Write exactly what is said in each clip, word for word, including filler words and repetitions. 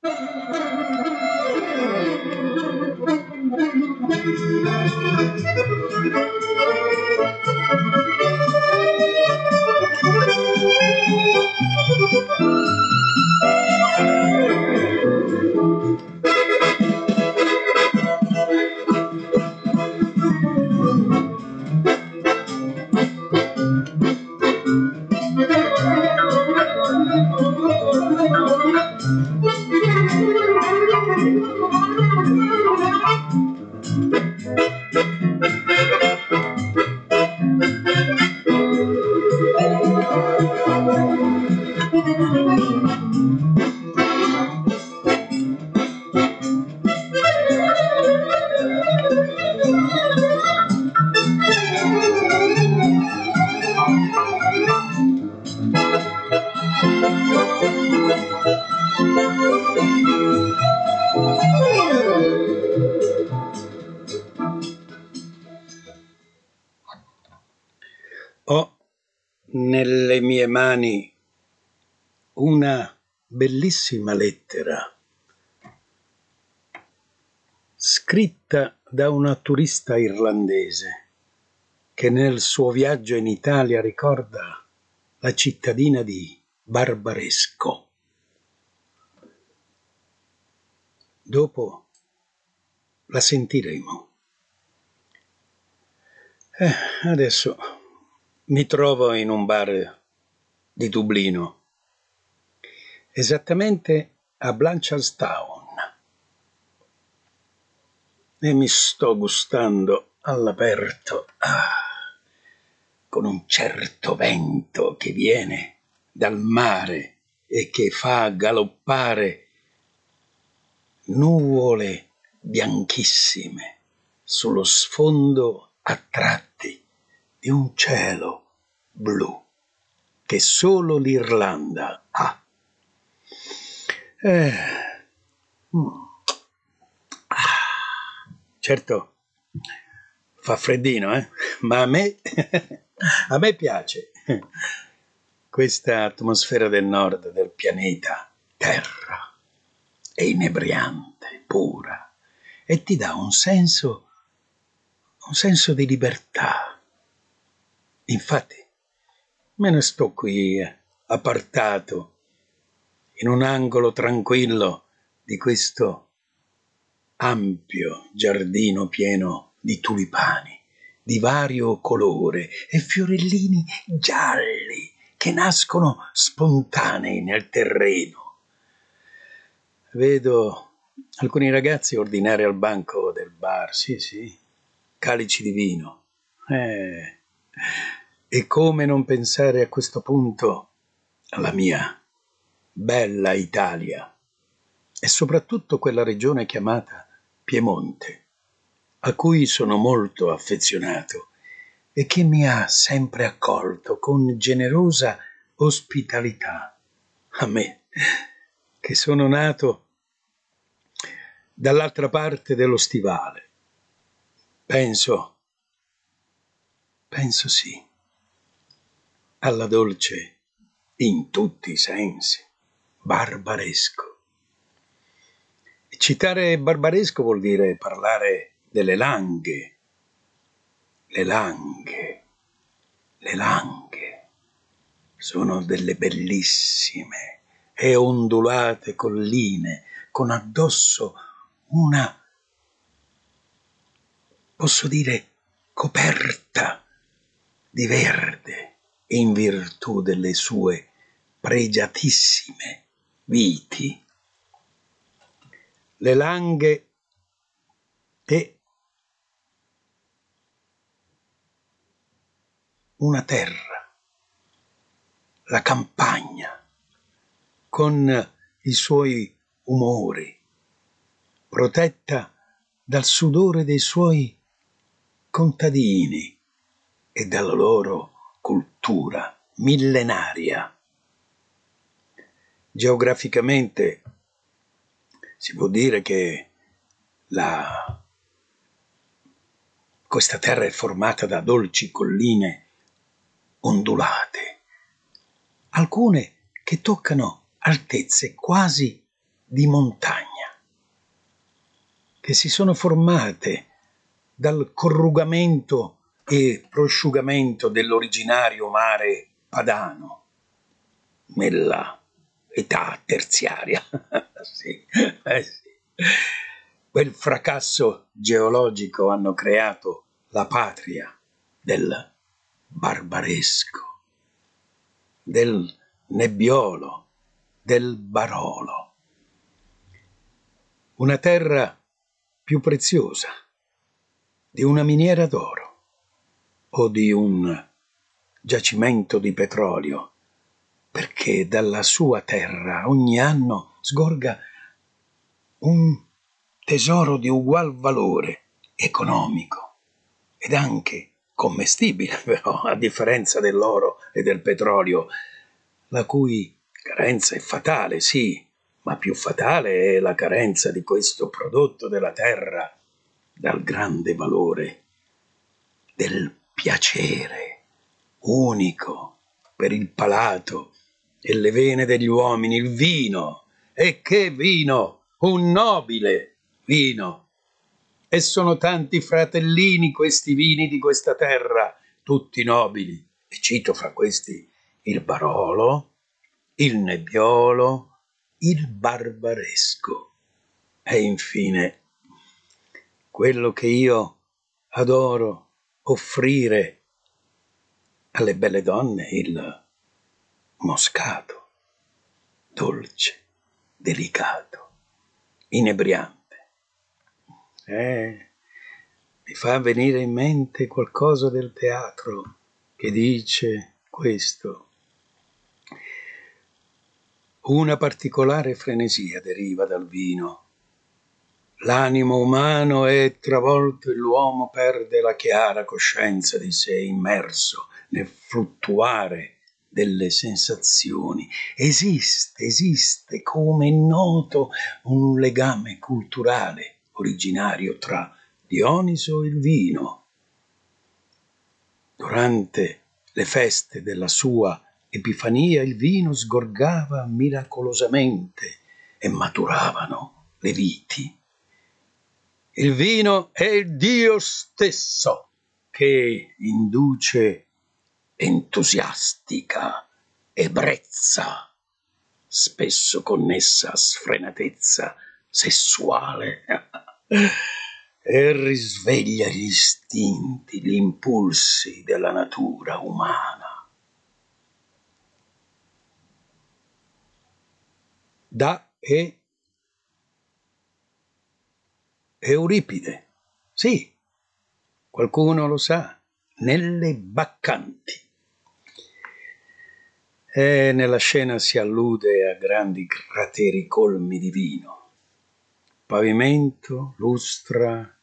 Ho nelle mie mani una bellissima lettera scritta da una turista irlandese che nel suo viaggio in Italia ricorda la cittadina di Barbaresco. Dopo la sentiremo. Eh, adesso mi trovo in un bar di Dublino, esattamente a Blanchardstown, e mi sto gustando all'aperto, ah, con un certo vento che viene dal mare e che fa galoppare nuvole bianchissime sullo sfondo a tratti di un cielo blu che solo l'Irlanda ha. Eh, mm. ah, certo, fa freddino, eh? Ma a me, a me piace questa atmosfera del nord del pianeta Terra. È inebriante, pura, e ti dà un senso, un senso di libertà. Infatti, me ne sto qui appartato in un angolo tranquillo di questo ampio giardino pieno di tulipani di vario colore e fiorellini gialli che nascono spontanei nel terreno. Vedo alcuni ragazzi ordinare al banco del bar, sì, sì, calici di vino. Eh, e come non pensare a questo punto alla mia bella Italia e soprattutto quella regione chiamata Piemonte, a cui sono molto affezionato e che mi ha sempre accolto con generosa ospitalità. A me, che sono nato dall'altra parte dello stivale. Penso, penso sì, alla dolce, in tutti i sensi, Barbaresco. E citare Barbaresco vuol dire parlare delle Langhe, le Langhe, le Langhe. Sono delle bellissime e ondulate colline con addosso una, posso dire, coperta di verde in virtù delle sue pregiatissime viti. Le Langhe e una terra, la campagna, con i suoi umori, protetta dal sudore dei suoi contadini e dalla loro cultura millenaria. Geograficamente si può dire che la, questa terra è formata da dolci colline ondulate, alcune che toccano altezze quasi di montagna, che si sono formate dal corrugamento e prosciugamento dell'originario mare padano nella età terziaria. Sì, eh sì. Quel fracasso geologico hanno creato la patria del barbaresco, del nebbiolo, del Barolo. Una terra più preziosa di una miniera d'oro o di un giacimento di petrolio, perché dalla sua terra ogni anno sgorga un tesoro di ugual valore economico ed anche commestibile, però, a differenza dell'oro e del petrolio, la cui carenza è fatale, sì, ma più fatale è la carenza di questo prodotto della terra dal grande valore del piacere unico per il palato e le vene degli uomini, il vino. E che vino! Un nobile vino! E sono tanti fratellini questi vini di questa terra, tutti nobili. E cito fra questi il Barolo, il Nebbiolo, il Barbaresco. E infine quello che io adoro offrire alle belle donne, il Moscato, dolce, delicato, inebriante. Eh, mi fa venire in mente qualcosa del teatro che dice questo. Una particolare frenesia deriva dal vino. L'animo umano è travolto e l'uomo perde la chiara coscienza di sé, immerso nel fluttuare delle sensazioni. Esiste, esiste, come è noto, un legame culturale originario tra Dioniso e il vino. Durante le feste della sua Epifania il vino sgorgava miracolosamente e maturavano le viti. Il vino è il Dio stesso che induce entusiastica ebbrezza, spesso connessa a sfrenatezza sessuale, e risveglia gli istinti, gli impulsi della natura umana. Da e Euripide, sì, qualcuno lo sa, nelle Baccanti. E nella scena si allude a grandi crateri colmi di vino, pavimento, lustra,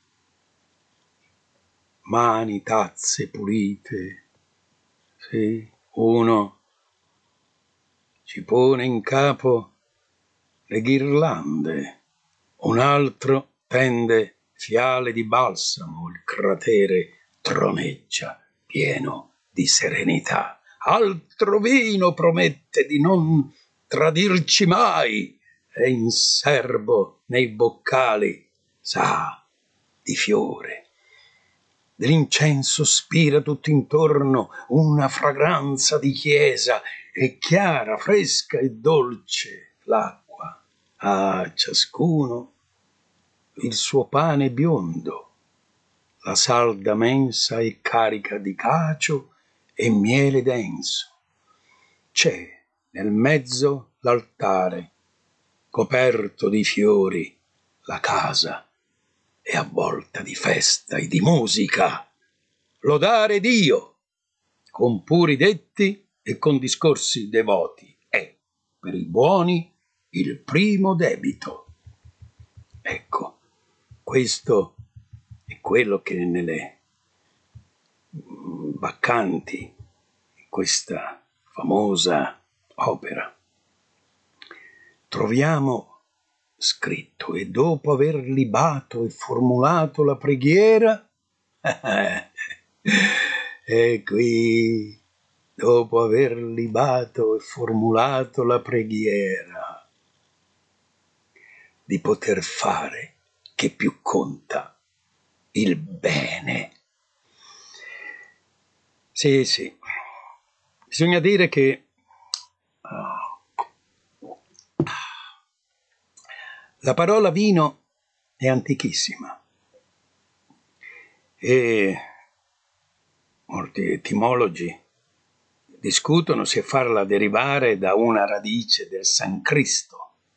mani, tazze pulite. Sì, uno ci pone in capo le ghirlande, un altro tende fiale di balsamo, il cratere troneggia pieno di serenità. Altro vino promette di non tradirci mai, e in serbo nei boccali sa di fiore. Dell'incenso spira tutto intorno una fragranza di chiesa, e chiara, fresca e dolce l'acqua. A ciascuno il suo pane biondo, la salda mensa è carica di cacio e miele denso. C'è nel mezzo l'altare, coperto di fiori, la casa è avvolta di festa e di musica. Lodare Dio, con puri detti e con discorsi devoti, è per i buoni il primo debito. Ecco, questo è quello che nelle Baccanti, questa famosa opera, troviamo scritto: e dopo aver libato e formulato la preghiera, e qui, dopo aver libato e formulato la preghiera, di poter fare che più conta, il bene. Sì, sì, bisogna dire che uh, la parola vino è antichissima e molti etimologi discutono se farla derivare da una radice del sanscrito,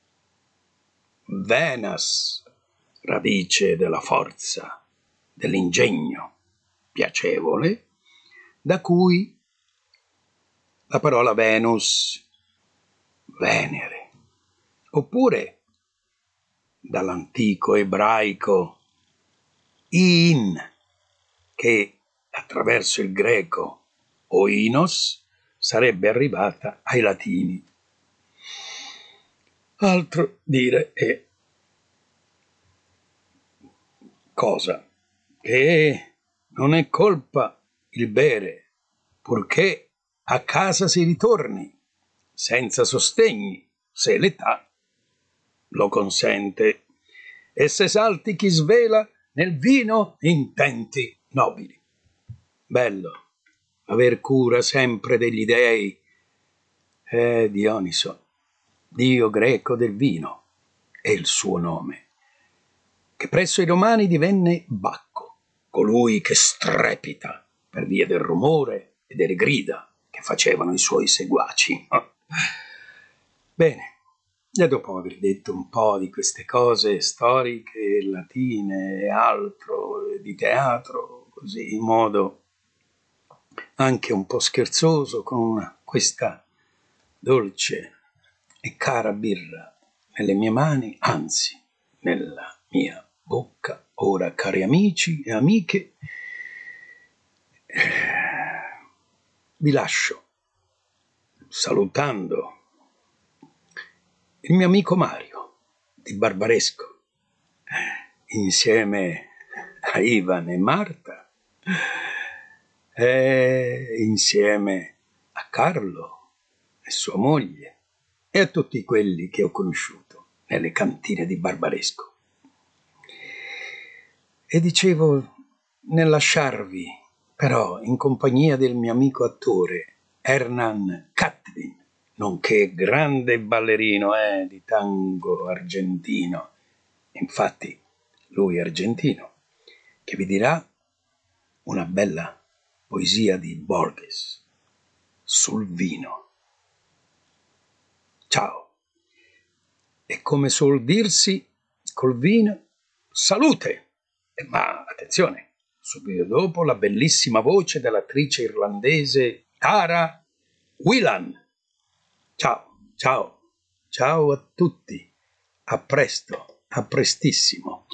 Venas, radice della forza, dell'ingegno piacevole, da cui la parola Venus, Venere, oppure dall'antico ebraico in, che attraverso il greco oinos sarebbe arrivata ai latini. Altro dire è cosa che non è colpa il bere, purché a casa si ritorni, senza sostegni, se l'età lo consente, e se salti chi svela nel vino intenti nobili. Bello aver cura sempre degli dei. Eh, Dioniso, dio greco del vino, è il suo nome, che presso i romani divenne Bacco, colui che strepita per via del rumore e delle grida che facevano i suoi seguaci. Bene, e dopo aver detto un po' di queste cose storiche, latine e altro, di teatro, così in modo anche un po' scherzoso, con questa dolce e cara birra nelle mie mani, anzi, nella mia bocca, ora, cari amici e amiche, vi lascio salutando il mio amico Mario di Barbaresco, insieme a Ivan e Marta, e insieme a Carlo e sua moglie e a tutti quelli che ho conosciuto nelle cantine di Barbaresco. E dicevo, nel lasciarvi però in compagnia del mio amico attore Hernan Catlin, nonché grande ballerino eh, di tango argentino, infatti lui è argentino, che vi dirà una bella poesia di Borges sul vino. Ciao. E come suol dirsi col vino, salute! Ma attenzione, subito dopo la bellissima voce dell'attrice irlandese Tara Whelan. Ciao, ciao, ciao a tutti. A presto, a prestissimo.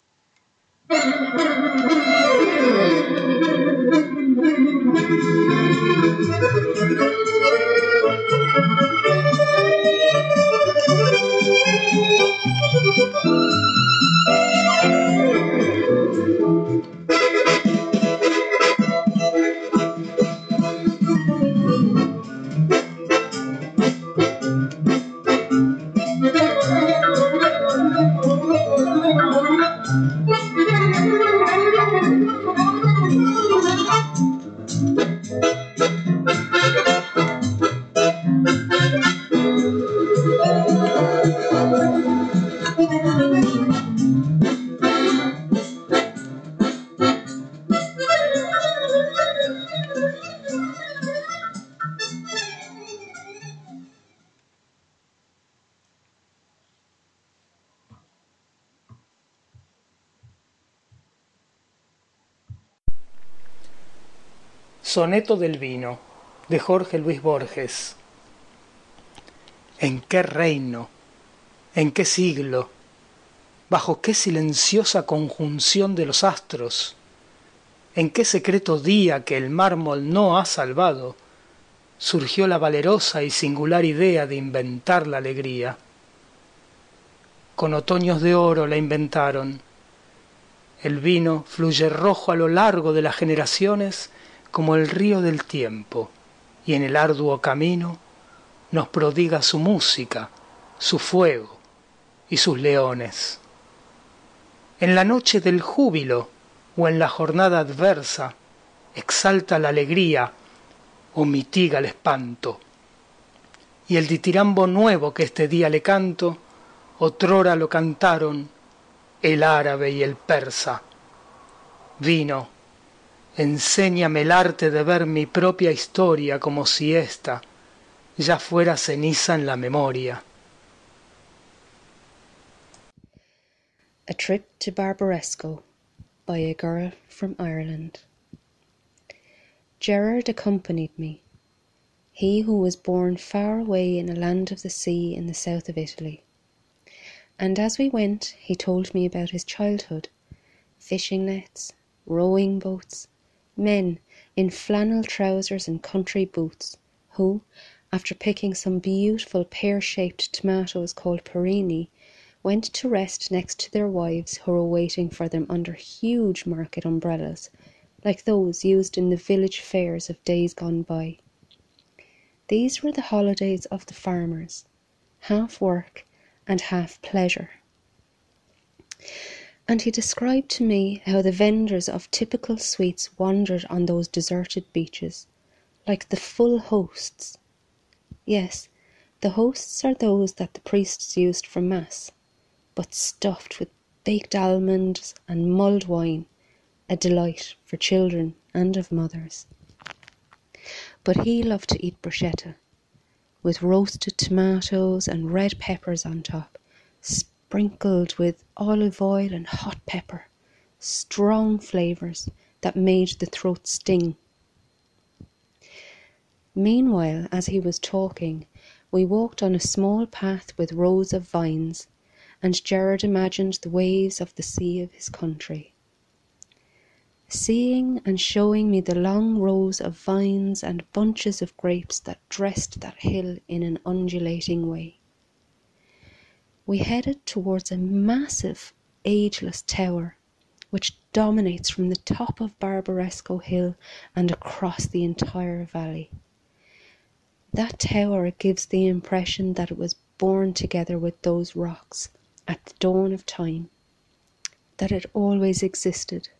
Soneto del vino, de Jorge Luis Borges. ¿En qué reino, en qué siglo, bajo qué silenciosa conjunción de los astros, en qué secreto día que el mármol no ha salvado, surgió la valerosa y singular idea de inventar la alegría? Con otoños de oro la inventaron. El vino fluye rojo a lo largo de las generaciones como el río del tiempo, y en el arduo camino nos prodiga su música, su fuego, y sus leones. En la noche del júbilo o en la jornada adversa, exalta la alegría o mitiga el espanto. Y el ditirambo nuevo que este día le canto, otrora lo cantaron el árabe y el persa. Vino, enséñame el arte de ver mi propia historia como si ésta ya fuera ceniza en la memoria. A Trip to Barbaresco by a Girl from Ireland. Gerard accompanied me, he who was born far away in a land of the sea in the south of Italy. And as we went, he told me about his childhood, fishing nets, rowing boats, men in flannel trousers and country boots, who, after picking some beautiful pear-shaped tomatoes called perini, went to rest next to their wives who were waiting for them under huge market umbrellas, like those used in the village fairs of days gone by. These were the holidays of the farmers, half work and half pleasure. And he described to me how the vendors of typical sweets wandered on those deserted beaches, like the full hosts. Yes, the hosts are those that the priests used for mass, but stuffed with baked almonds and mulled wine, a delight for children and of mothers. But he loved to eat bruschetta, with roasted tomatoes and red peppers on top, sprinkled with olive oil and hot pepper, strong flavours that made the throat sting. Meanwhile, as he was talking, we walked on a small path with rows of vines, and Gerard imagined the waves of the sea of his country. Seeing and showing me the long rows of vines and bunches of grapes that dressed that hill in an undulating way. We headed towards a massive, ageless tower, which dominates from the top of Barbaresco Hill and across the entire valley. That tower gives the impression that it was born together with those rocks at the dawn of time, that it always existed.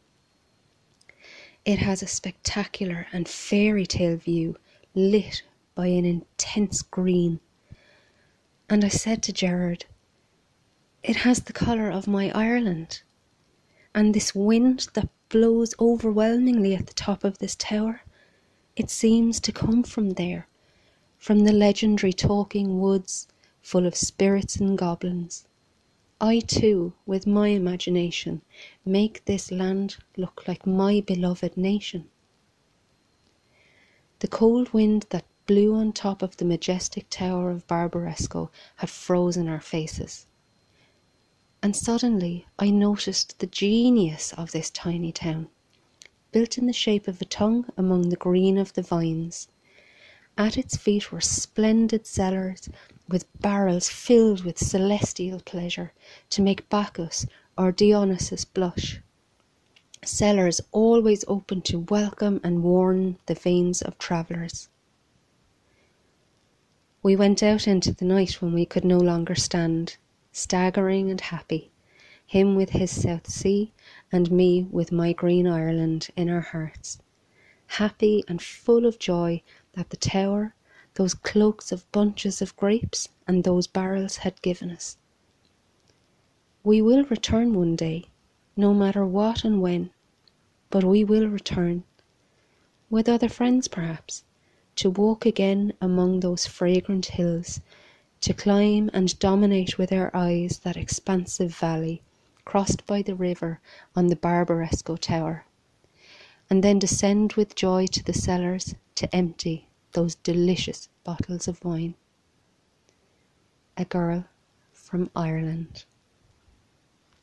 It has a spectacular and fairy tale view lit by an intense green. And I said to Gerard, it has the colour of my Ireland. And this wind that blows overwhelmingly at the top of this tower, it seems to come from there, from the legendary talking woods full of spirits and goblins. I too, with my imagination, make this land look like my beloved nation. The cold wind that blew on top of the majestic tower of Barbaresco had frozen our faces. And suddenly I noticed the genius of this tiny town, built in the shape of a tongue among the green of the vines. At its feet were splendid cellars with barrels filled with celestial pleasure to make Bacchus or Dionysus blush. Cellars always open to welcome and warm the veins of travellers. We went out into the night when we could no longer stand, staggering and happy, him with his South Sea and me with my green Ireland in our hearts, happy and full of joy that the tower, those cloaks of bunches of grapes and those barrels had given us. We will return one day, no matter what and when, but we will return, with other friends perhaps, to walk again among those fragrant hills, to climb and dominate with our eyes that expansive valley, crossed by the river on the Barbaresco tower, and then descend with joy to the cellars to empty those delicious bottles of wine. A Girl from Ireland.